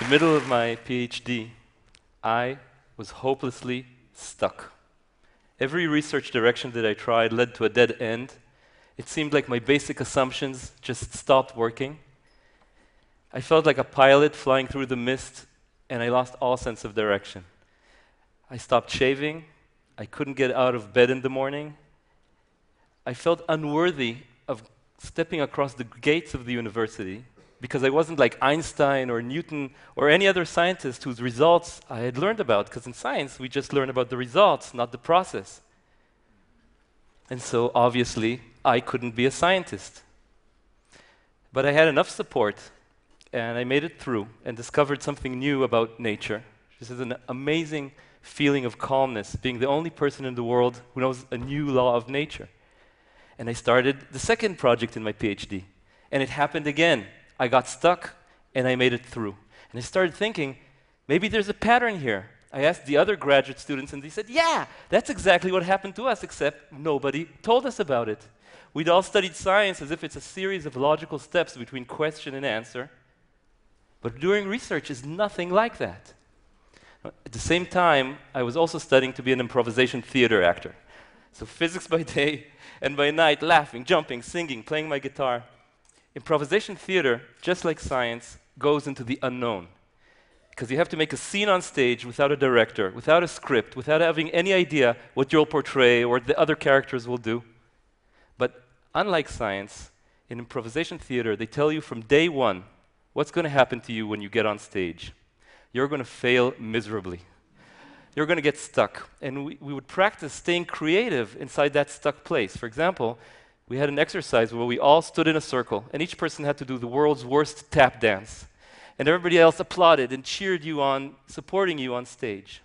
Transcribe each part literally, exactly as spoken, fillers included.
middle of my PhD, I was hopelessly stuck. Every research direction that I tried led to a dead end. It seemed like my basic assumptions just stopped working. I felt like a pilot flying through the mist, and I lost all sense of direction. I stopped shaving. I couldn't get out of bed in the morning. I felt unworthy of stepping across the gates of the university because I wasn't like Einstein or Newton or any other scientist whose results I had learned about, because in science we just learn about the results, not the process. And so obviously I couldn't be a scientist. But I had enough support, and I made it through and discovered something new about nature. This is an amazing feeling of calmness, being the only person in the world who knows a new law of nature. And I started the second project in my PhD, and it happened again. I got stuck, and I made it through. And I started thinking, maybe there's a pattern here. I asked the other graduate students, and they said, yeah, that's exactly what happened to us, except nobody told us about it. We'd all studied science as if it's a series of logical steps between question and answer. But doing research is nothing like that. At the same time, I was also studying to be an improvisation theater actor. So physics by day, and by night, laughing, jumping, singing, playing my guitar. Improvisation theater, just like science, goes into the unknown. Because you have to make a scene on stage without a director, without a script, without having any idea what you'll portray or what the other characters will do. But unlike science, in improvisation theater, they tell you from day one what's going to happen to you when you get on stage. You're going to fail miserably. You're going to get stuck. And we, we would practice staying creative inside that stuck place. For example, we had an exercise where we all stood in a circle, and each person had to do the world's worst tap dance. And everybody else applauded and cheered you on, supporting you on stage.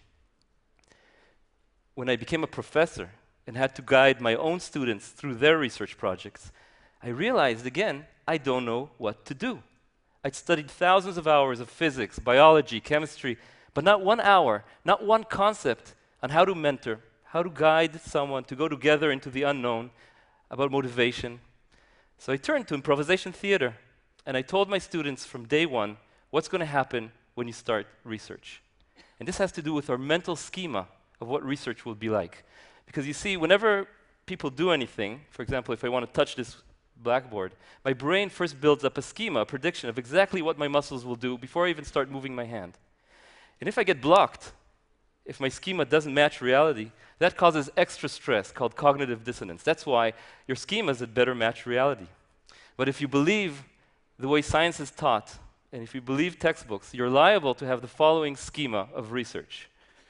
When I became a professor and had to guide my own students through their research projects, I realized again, I don't know what to do. I'd studied thousands of hours of physics, biology, chemistry, but not one hour, not one concept on how to mentor, how to guide someone to go together into the unknown, about motivation. So I turned to improvisation theater, and I told my students from day one what's going to happen when you start research. And this has to do with our mental schema of what research will be like. Because you see, whenever people do anything, for example, if I want to touch this blackboard, my brain first builds up a schema, a prediction of exactly what my muscles will do before I even start moving my hand. And if I get blocked, if my schema doesn't match reality, that causes extra stress called cognitive dissonance. That's why your schemas had better match reality. But if you believe the way science is taught, and if you believe textbooks, you're liable to have the following schema of research.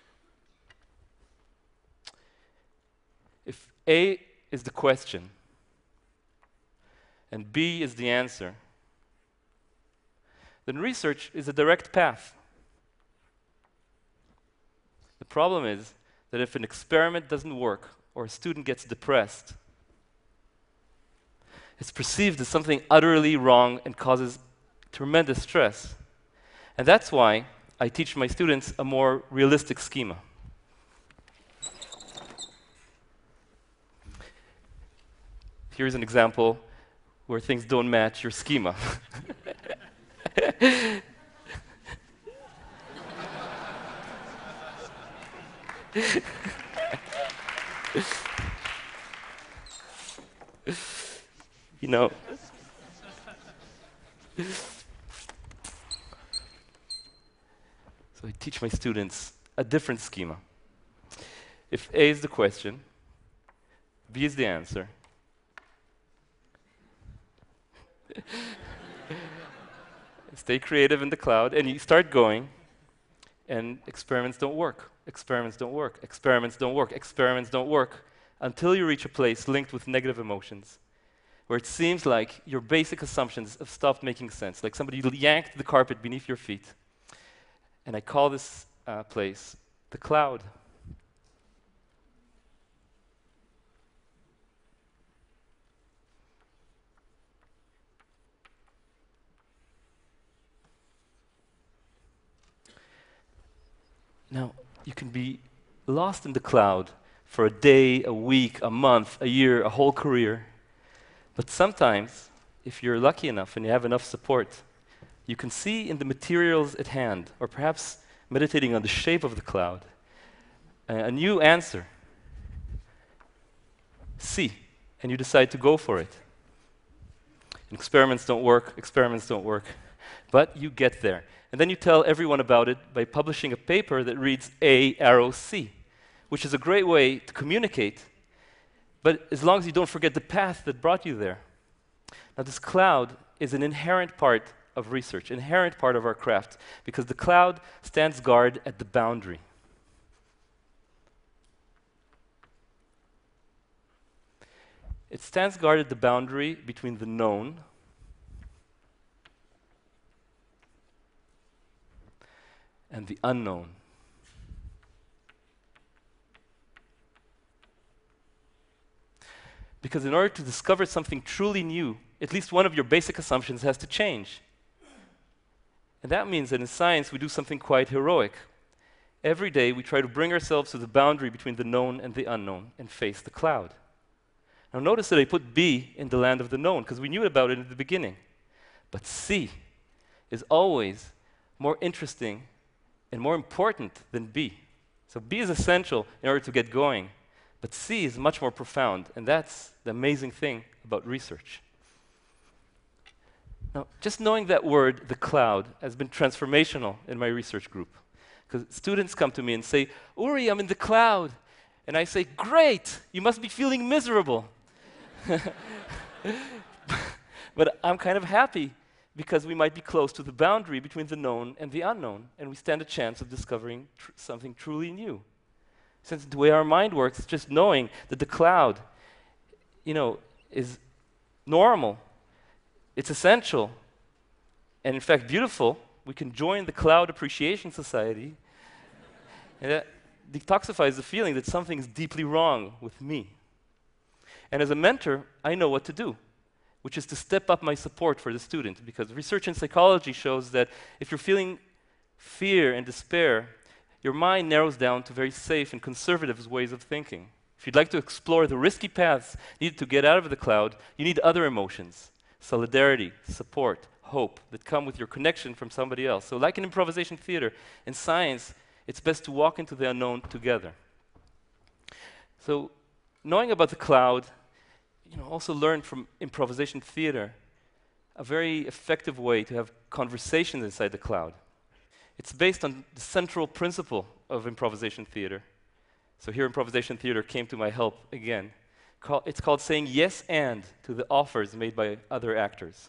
If A is the question, and B is the answer, then research is a direct path. The problem is that if an experiment doesn't work or a student gets depressed, it's perceived as something utterly wrong and causes tremendous stress. And that's why I teach my students a more realistic schema. Here's an example where things don't match your schema. You know, so I teach my students a different schema. If A is the question, B is the answer, stay creative in the cloud, and you start going, and experiments don't work. Experiments don't work. Experiments don't work. Experiments don't work until you reach a place linked with negative emotions, where it seems like your basic assumptions have stopped making sense, like somebody yanked the carpet beneath your feet. And I call this uh, place the cloud. Now, you can be lost in the cloud for a day, a week, a month, a year, a whole career. But sometimes, if you're lucky enough and you have enough support, you can see in the materials at hand, or perhaps meditating on the shape of the cloud, a, a new answer. See, and you decide to go for it. And experiments don't work, experiments don't work, but you get there. And then you tell everyone about it by publishing a paper that reads A arrow C, which is a great way to communicate, but as long as you don't forget the path that brought you there. Now, this cloud is an inherent part of research, inherent part of our craft, because the cloud stands guard at the boundary. It stands guard at the boundary between the known and the unknown. Because in order to discover something truly new, at least one of your basic assumptions has to change. And that means that in science we do something quite heroic. Every day we try to bring ourselves to the boundary between the known and the unknown and face the cloud. Now notice that I put B in the land of the known, because we knew about it in the beginning. But C is always more interesting and more important than B. So B is essential in order to get going, but C is much more profound, and that's the amazing thing about research. Now, just knowing that word, the cloud, has been transformational in my research group. Because students come to me and say, Uri, I'm in the cloud. And I say, great, you must be feeling miserable. But I'm kind of happy because we might be close to the boundary between the known and the unknown, and we stand a chance of discovering tr something truly new. Since the way our mind works, just knowing that the cloud, you know, is normal, it's essential, and in fact beautiful, we can join the Cloud Appreciation Society, and that detoxifies the feeling that something is deeply wrong with me. And as a mentor, I know what to do, which is to step up my support for the student, because research in psychology shows that if you're feeling fear and despair, your mind narrows down to very safe and conservative ways of thinking. If you'd like to explore the risky paths needed to get out of the cloud, you need other emotions, solidarity, support, hope, that come with your connection from somebody else. So like in improvisation theater, in science, it's best to walk into the unknown together. So knowing about the cloud, you know, also learn from improvisation theater a very effective way to have conversations inside the cloud. It's based on the central principle of improvisation theater. So here improvisation theater came to my help again. Call, it's called saying yes and to the offers made by other actors.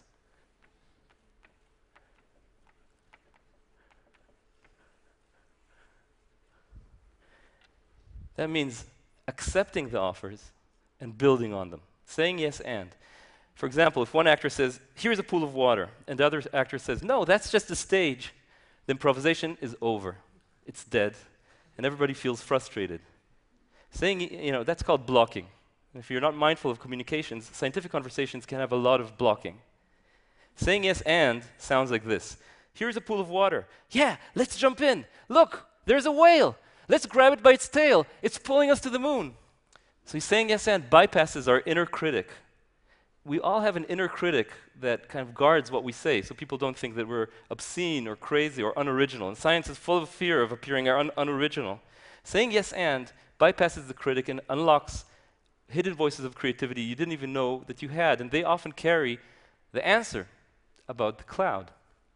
That means accepting the offers and building on them. Saying yes and. For example, if one actor says, here's a pool of water, and the other actor says, no, that's just a stage, the improvisation is over. It's dead, and everybody feels frustrated. Saying, you know, that's called blocking. If you're not mindful of communications, scientific conversations can have a lot of blocking. Saying yes and sounds like this. Here's a pool of water. Yeah, let's jump in. Look, there's a whale. Let's grab it by its tail. It's pulling us to the moon. So he's saying yes and bypasses our inner critic. We all have an inner critic that kind of guards what we say, so people don't think that we're obscene or crazy or unoriginal. And science is full of fear of appearing un unoriginal. Saying yes and bypasses the critic and unlocks hidden voices of creativity you didn't even know that you had, and they often carry the answer about the cloud.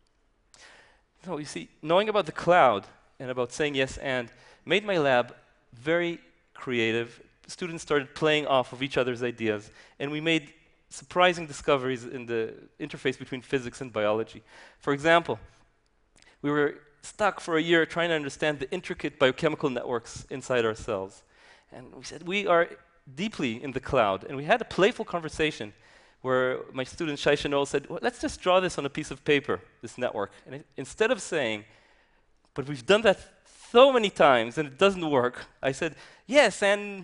So you see, knowing about the cloud and about saying yes and made my lab very creative. Students started playing off of each other's ideas, and we made surprising discoveries in the interface between physics and biology. For example, we were stuck for a year trying to understand the intricate biochemical networks inside our cells. And we said, we are deeply in the cloud. And we had a playful conversation where my student Shai Chanol said, well, let's just draw this on a piece of paper, this network. And it, instead of saying, but we've done that so many times and it doesn't work, I said, yes, and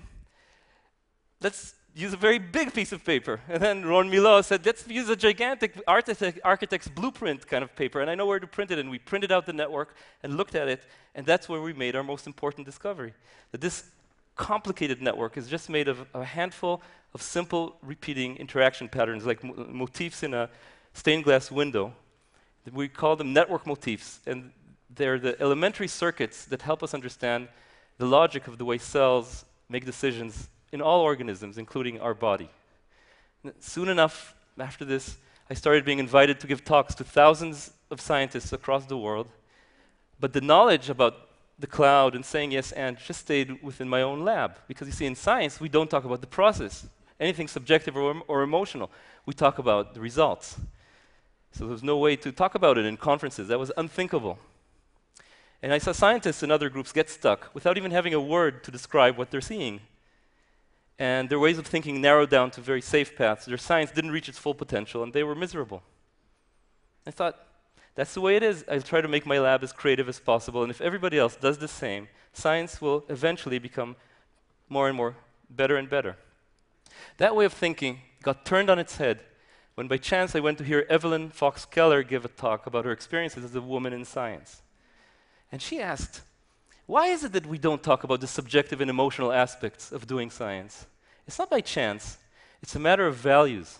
let's use a very big piece of paper. And then Ron Milo said, let's use a gigantic architect, architect's blueprint kind of paper, and I know where to print it. And we printed out the network and looked at it, and that's where we made our most important discovery, that this complicated network is just made of a handful of simple repeating interaction patterns, like mo motifs in a stained glass window, We call them network motifs, and they're the elementary circuits that help us understand the logic of the way cells make decisions in all organisms, including our body. N- Soon enough, after this, I started being invited to give talks to thousands of scientists across the world, but the knowledge about the cloud and saying yes and just stayed within my own lab. Because you see, in science, we don't talk about the process, anything subjective or, em- or emotional. We talk about the results. So there was no way to talk about it in conferences. That was unthinkable. And I saw scientists in other groups get stuck without even having a word to describe what they're seeing. And their ways of thinking narrowed down to very safe paths. Their science didn't reach its full potential, and they were miserable. I thought, that's the way it is. I'll try to make my lab as creative as possible, and if everybody else does the same, science will eventually become more and more better and better. That way of thinking got turned on its head when by chance I went to hear Evelyn Fox Keller give a talk about her experiences as a woman in science. And she asked, why is it that we don't talk about the subjective and emotional aspects of doing science? It's not by chance. It's a matter of values.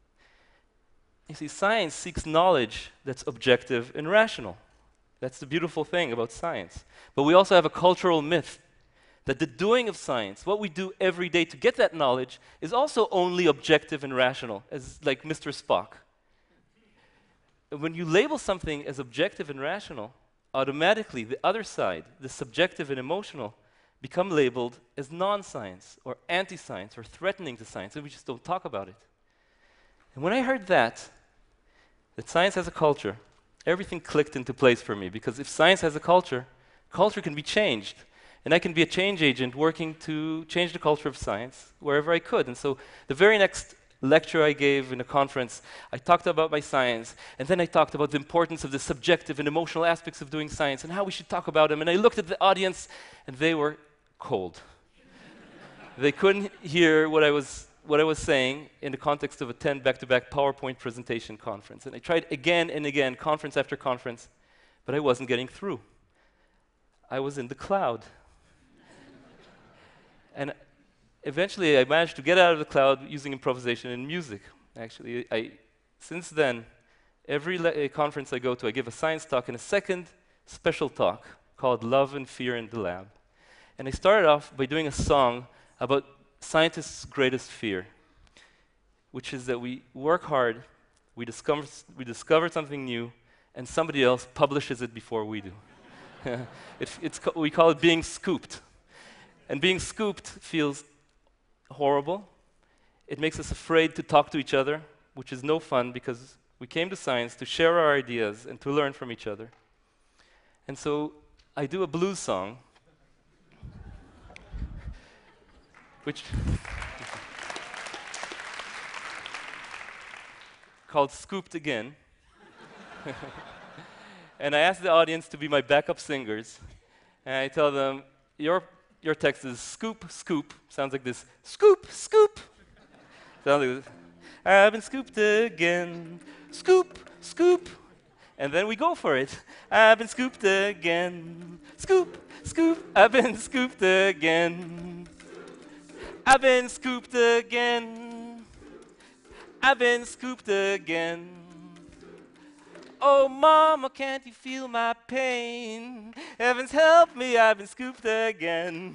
You see, science seeks knowledge that's objective and rational. That's the beautiful thing about science. But we also have a cultural myth that the doing of science, what we do every day to get that knowledge, is also only objective and rational, as like Mister Spock. When you label something as objective and rational, automatically the other side, the subjective and emotional, become labeled as non-science or anti-science or threatening to science, and we just don't talk about it. And when I heard that, that science has a culture, everything clicked into place for me, because if science has a culture, culture can be changed. And I can be a change agent working to change the culture of science wherever I could. And so the very next lecture I gave in a conference, I talked about my science, and then I talked about the importance of the subjective and emotional aspects of doing science and how we should talk about them. And I looked at the audience, and they were cold. They couldn't hear what I was what I was saying in the context of a ten back-to-back PowerPoint presentation conference. And I tried again and again, conference after conference, but I wasn't getting through. I was in the cloud. And eventually, I managed to get out of the cloud using improvisation and music. Actually, I, since then, every le- uh, conference I go to, I give a science talk and a second special talk called Love and Fear in the Lab. And I started off by doing a song about scientists' greatest fear, which is that we work hard, we discover, we discover something new, and somebody else publishes it before we do. it, it's co- we call it being scooped. And being scooped feels horrible. It makes us afraid to talk to each other, which is no fun because we came to science to share our ideas and to learn from each other. And so I do a blues song, which called Scooped Again. And I ask the audience to be my backup singers. And I tell them, your Your text is scoop, scoop. Sounds like this. Scoop, scoop. Sounds like this. I've been scooped again. Scoop, scoop. And then we go for it. I've been scooped again. Scoop, scoop. I've been scooped again. I've been scooped again. I've been scooped again. Oh, mama, can't you feel my pain? Heavens help me, I've been scooped again.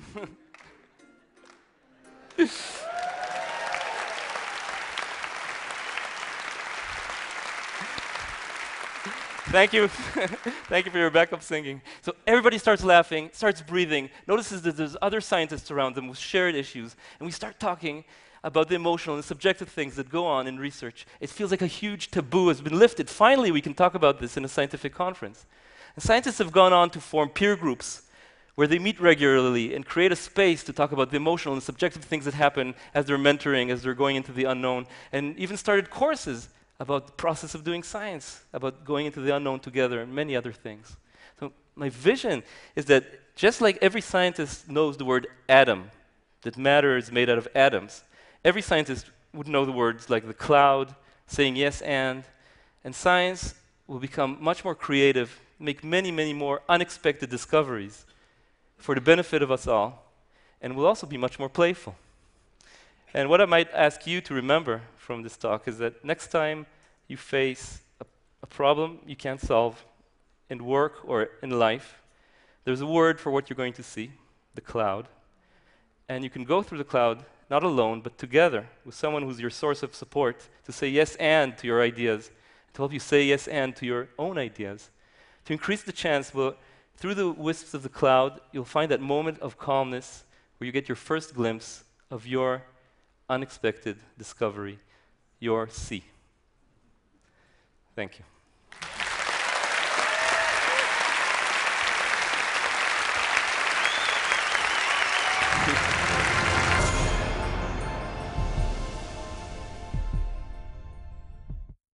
Thank you. Thank you for your backup singing. So everybody starts laughing, starts breathing, notices that there's other scientists around them with shared issues, and we start talking about the emotional and subjective things that go on in research. It feels like a huge taboo has been lifted. Finally, we can talk about this in a scientific conference. And scientists have gone on to form peer groups where they meet regularly and create a space to talk about the emotional and subjective things that happen as they're mentoring, as they're going into the unknown, and even started courses about the process of doing science, about going into the unknown together, and many other things. So my vision is that just like every scientist knows the word atom, that matter is made out of atoms, every scientist would know the words like the cloud, saying yes and, and science will become much more creative, make many, many more unexpected discoveries for the benefit of us all, and will also be much more playful. And what I might ask you to remember from this talk is that next time you face a, a problem you can't solve in work or in life, there's a word for what you're going to see, the cloud. And you can go through the cloud, not alone, but together with someone who's your source of support to say yes and to your ideas, to help you say yes and to your own ideas. To increase the chance, well, through the wisps of the cloud, you'll find that moment of calmness where you get your first glimpse of your unexpected discovery, your sea. Thank you.